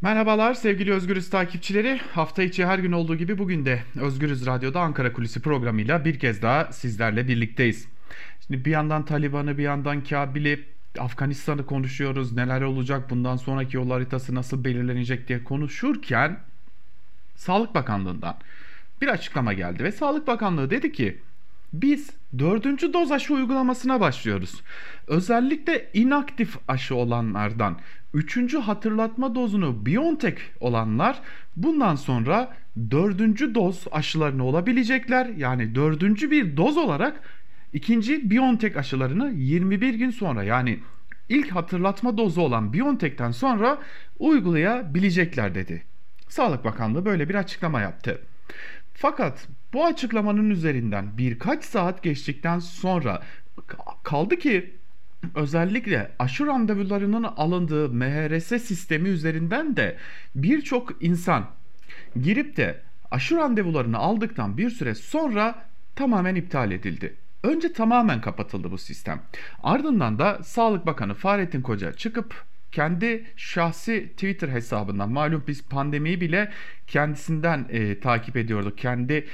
Merhabalar sevgili Özgürüz takipçileri. Hafta içi her gün olduğu gibi bugün de Özgürüz Radyo'da Ankara Kulisi programıyla bir kez daha sizlerle birlikteyiz. Şimdi bir yandan Taliban'ı, bir yandan Kabil'i, Afganistan'ı konuşuyoruz. Neler olacak, bundan sonraki yol haritası nasıl belirlenecek diye konuşurken Sağlık Bakanlığı'ndan bir açıklama geldi ve Sağlık Bakanlığı dedi ki biz dördüncü doz aşı uygulamasına başlıyoruz. Özellikle inaktif aşı olanlardan üçüncü hatırlatma dozunu BioNTech olanlar bundan sonra dördüncü doz aşılarını olabilecekler. Yani dördüncü bir doz olarak ikinci BioNTech aşılarını 21 gün sonra, yani ilk hatırlatma dozu olan BioNTech'ten sonra uygulayabilecekler dedi. Sağlık Bakanlığı böyle bir açıklama yaptı. Fakat bu açıklamanın üzerinden birkaç saat geçtikten sonra kaldı ki özellikle aşı randevularının alındığı MHRS sistemi üzerinden de birçok insan girip de aşı randevularını aldıktan bir süre sonra tamamen iptal edildi. Önce tamamen kapatıldı bu sistem. Ardından da Sağlık Bakanı Fahrettin Koca çıkıp kendi şahsi Twitter hesabından, malum biz pandemiyi bile kendisinden takip ediyorduk. Kendi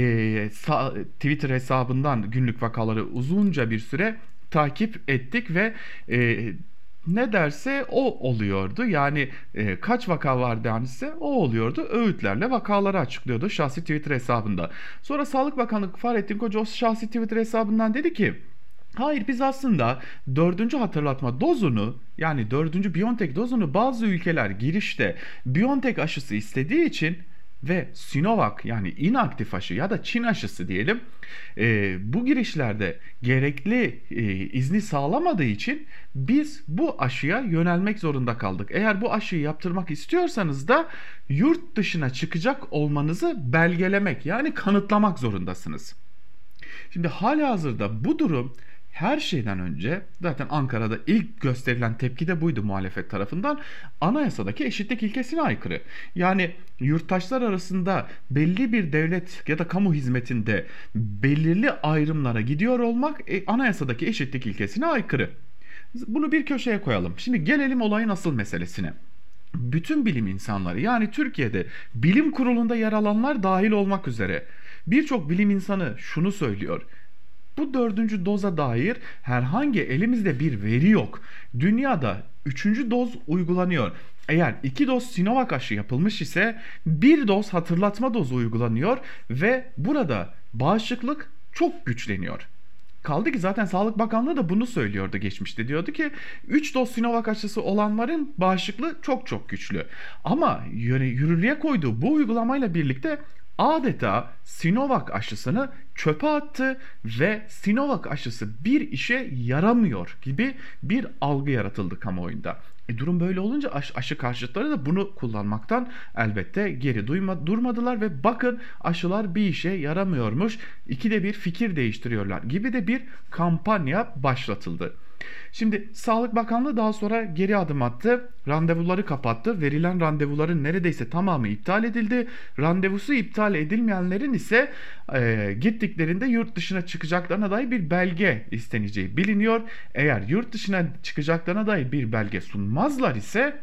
Twitter hesabından günlük vakaları uzunca bir süre takip ettik ve ne derse o oluyordu. Yani kaç vaka var dense o oluyordu. Öğütlerle vakaları açıklıyordu şahsi Twitter hesabında. Sonra Sağlık Bakanı Fahrettin Koca o şahsi Twitter hesabından dedi ki hayır, biz aslında dördüncü hatırlatma dozunu, yani dördüncü BioNTech dozunu bazı ülkeler girişte BioNTech aşısı istediği için ve Sinovac, yani inaktif aşı ya da Çin aşısı diyelim, bu girişlerde gerekli izni sağlamadığı için biz bu aşıya yönelmek zorunda kaldık. Eğer bu aşıyı yaptırmak istiyorsanız da yurt dışına çıkacak olmanızı belgelemek, yani kanıtlamak zorundasınız. Şimdi halihazırda bu durum her şeyden önce zaten Ankara'da ilk gösterilen tepki de buydu muhalefet tarafından. Anayasadaki eşitlik ilkesine aykırı. Yani yurttaşlar arasında belli bir devlet ya da kamu hizmetinde belirli ayrımlara gidiyor olmak anayasadaki eşitlik ilkesine aykırı. Bunu bir köşeye koyalım. Şimdi gelelim olayın asıl meselesine. Bütün bilim insanları, yani Türkiye'de bilim kurulunda yer alanlar dahil olmak üzere birçok bilim insanı şunu söylüyor: bu dördüncü doza dair herhangi elimizde bir veri yok. Dünyada üçüncü doz uygulanıyor. Eğer 2 doz Sinovac aşı yapılmış ise bir doz hatırlatma dozu uygulanıyor ve burada bağışıklık çok güçleniyor. Kaldı ki zaten Sağlık Bakanlığı da bunu söylüyordu geçmişte. Diyordu ki 3 doz Sinovac aşısı olanların bağışıklığı çok çok güçlü. Ama yürürlüğe koyduğu bu uygulamayla birlikte adeta Sinovac aşısını çöpe attı ve Sinovac aşısı bir işe yaramıyor gibi bir algı yaratıldı kamuoyunda. Durum böyle olunca aşı karşıtları da bunu kullanmaktan elbette geri durmadılar ve bakın aşılar bir işe yaramıyormuş, ikide bir fikir değiştiriyorlar gibi de bir kampanya başlatıldı. Şimdi Sağlık Bakanlığı daha sonra geri adım attı. Randevuları kapattı. Verilen randevuların neredeyse tamamı iptal edildi. Randevusu iptal edilmeyenlerin ise gittiklerinde yurt dışına çıkacaklarına dair bir belge isteneceği biliniyor. Eğer yurt dışına çıkacaklarına dair bir belge sunmazlar ise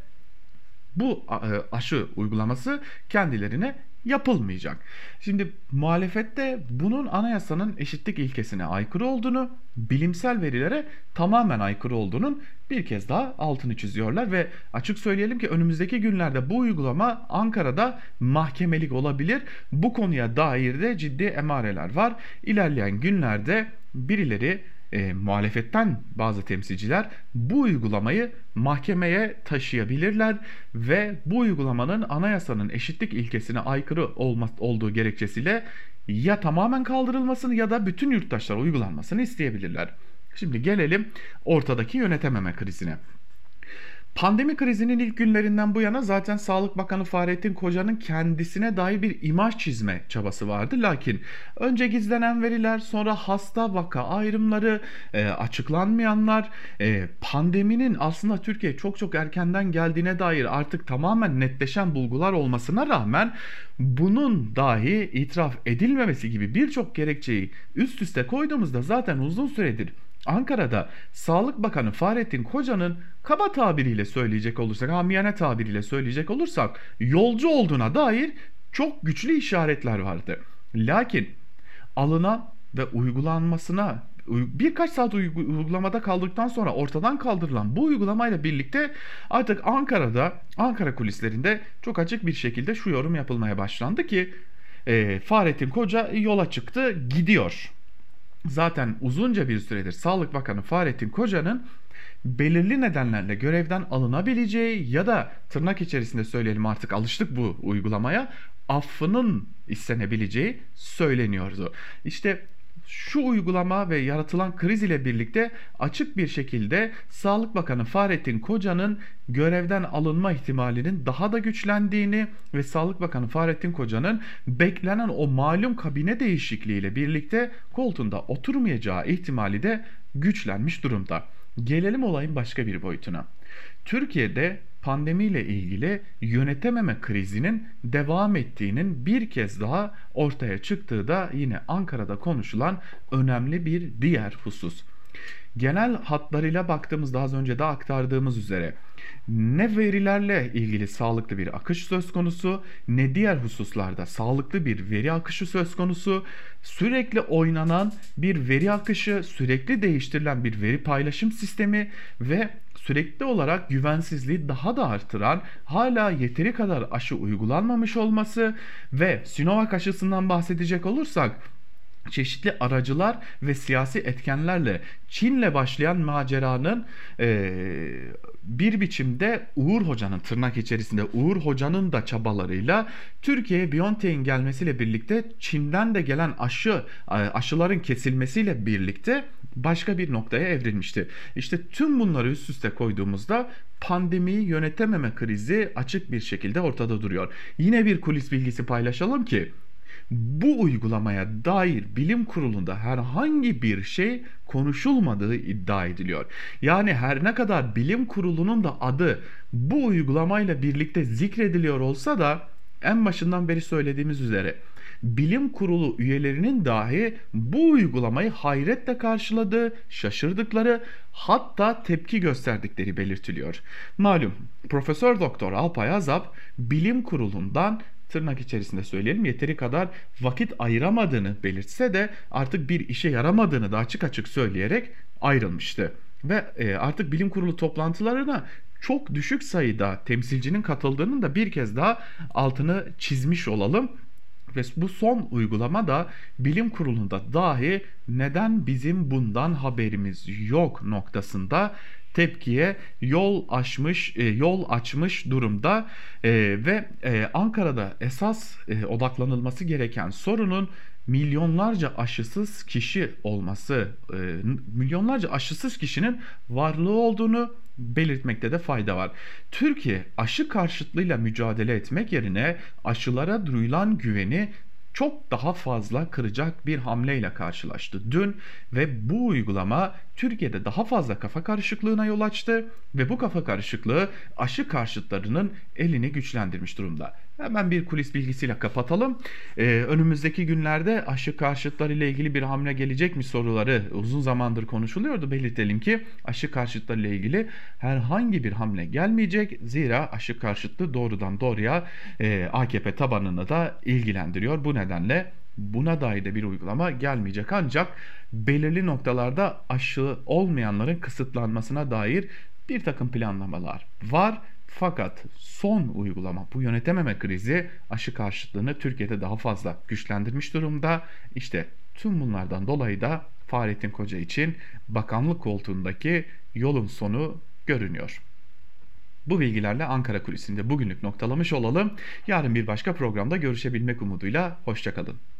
bu aşı uygulaması kendilerine yapılmayacak. Şimdi muhalefette bunun anayasanın eşitlik ilkesine aykırı olduğunu, bilimsel verilere tamamen aykırı olduğunun bir kez daha altını çiziyorlar ve açık söyleyelim ki önümüzdeki günlerde bu uygulama Ankara'da mahkemelik olabilir. Bu konuya dair de ciddi emareler var. İlerleyen günlerde birileri, muhalefetten bazı temsilciler bu uygulamayı mahkemeye taşıyabilirler ve bu uygulamanın anayasanın eşitlik ilkesine aykırı olduğu gerekçesiyle ya tamamen kaldırılmasını ya da bütün yurttaşlara uygulanmasını isteyebilirler. Şimdi gelelim ortadaki yönetememe krizine. Pandemi krizinin ilk günlerinden bu yana zaten Sağlık Bakanı Fahrettin Koca'nın kendisine dair bir imaj çizme çabası vardı. Lakin önce gizlenen veriler, sonra hasta vaka ayrımları, açıklanmayanlar, pandeminin aslında Türkiye çok çok erkenden geldiğine dair artık tamamen netleşen bulgular olmasına rağmen bunun dahi itiraf edilmemesi gibi birçok gerekçeyi üst üste koyduğumuzda zaten uzun süredir Ankara'da Sağlık Bakanı Fahrettin Koca'nın kaba tabiriyle söyleyecek olursak, amiyane tabiriyle söyleyecek olursak yolcu olduğuna dair çok güçlü işaretler vardı. Lakin alınan ve uygulanmasına birkaç saat uygulamada kaldıktan sonra ortadan kaldırılan bu uygulamayla birlikte artık Ankara'da, Ankara kulislerinde çok açık bir şekilde şu yorum yapılmaya başlandı ki Fahrettin Koca yola çıktı, gidiyor. Zaten uzunca bir süredir Sağlık Bakanı Fahrettin Koca'nın belirli nedenlerle görevden alınabileceği ya da tırnak içerisinde söyleyelim, artık alıştık bu uygulamaya, affının istenebileceği söyleniyordu. İşte şu uygulama ve yaratılan kriz ile birlikte açık bir şekilde Sağlık Bakanı Fahrettin Koca'nın görevden alınma ihtimalinin daha da güçlendiğini ve Sağlık Bakanı Fahrettin Koca'nın beklenen o malum kabine değişikliğiyle birlikte koltuğunda oturmayacağı ihtimali de güçlenmiş durumda. Gelelim olayın başka bir boyutuna. Türkiye'de pandemiyle ilgili yönetememe krizinin devam ettiğinin bir kez daha ortaya çıktığı da yine Ankara'da konuşulan önemli bir diğer husus. Genel hatlarıyla baktığımızda az önce de aktardığımız üzere ne verilerle ilgili sağlıklı bir akış söz konusu, ne diğer hususlarda sağlıklı bir veri akışı söz konusu. Sürekli oynanan bir veri akışı, sürekli değiştirilen bir veri paylaşım sistemi ve sürekli olarak güvensizliği daha da artıran, hala yeteri kadar aşı uygulanmamış olması ve Sinovac aşısından bahsedecek olursak, çeşitli aracılar ve siyasi etkenlerle Çin'le başlayan maceranın bir biçimde Uğur Hoca'nın, tırnak içerisinde Uğur Hoca'nın da çabalarıyla Türkiye'ye BioNTech'in gelmesiyle birlikte Çin'den de gelen aşıların kesilmesiyle birlikte başka bir noktaya evrilmişti. İşte tüm bunları üst üste koyduğumuzda pandemiyi yönetememe krizi açık bir şekilde ortada duruyor. Yine bir kulis bilgisi paylaşalım ki bu uygulamaya dair bilim kurulunda herhangi bir şey konuşulmadığı iddia ediliyor. Yani her ne kadar bilim kurulunun da adı bu uygulamayla birlikte zikrediliyor olsa da en başından beri söylediğimiz üzere bilim kurulu üyelerinin dahi bu uygulamayı hayretle karşıladığı, şaşırdıkları, hatta tepki gösterdikleri belirtiliyor. Malum Profesör Doktor Alpay Azap bilim kurulundan, tırnak içerisinde söyleyelim, yeteri kadar vakit ayıramadığını belirtse de artık bir işe yaramadığını da açık açık söyleyerek ayrılmıştı. Ve artık bilim kurulu toplantılarına çok düşük sayıda temsilcinin katıldığının da bir kez daha altını çizmiş olalım. Ve bu son uygulama da bilim kurulunda dahi neden bizim bundan haberimiz yok noktasında tepkiye yol açmış durumda. Ve Ankara'da esas odaklanılması gereken sorunun milyonlarca aşısız kişi olması, milyonlarca aşısız kişinin varlığı olduğunu belirtmekte de fayda var. Türkiye aşı karşıtlığıyla mücadele etmek yerine aşılara duyulan güveni çok daha fazla kıracak bir hamleyle karşılaştı dün ve bu uygulama Türkiye'de daha fazla kafa karışıklığına yol açtı ve bu kafa karışıklığı aşı karşıtlarının elini güçlendirmiş durumda. Hemen bir kulis bilgisiyle kapatalım. Önümüzdeki günlerde aşı karşıtları ile ilgili bir hamle gelecek mi soruları uzun zamandır konuşuluyordu. Belirtelim ki aşı karşıtları ile ilgili herhangi bir hamle gelmeyecek. Zira aşı karşıtlığı doğrudan doğruya AKP tabanını da ilgilendiriyor. Bu nedenle buna dair de bir uygulama gelmeyecek, ancak belirli noktalarda aşı olmayanların kısıtlanmasına dair bir takım planlamalar var. Fakat son uygulama, bu yönetememe krizi aşı karşıtlığını Türkiye'de daha fazla güçlendirmiş durumda. İşte tüm bunlardan dolayı da Fahrettin Koca için bakanlık koltuğundaki yolun sonu görünüyor. Bu bilgilerle Ankara Kulisi'nde bugünlük noktalamış olalım. Yarın bir başka programda görüşebilmek umuduyla hoşça kalın.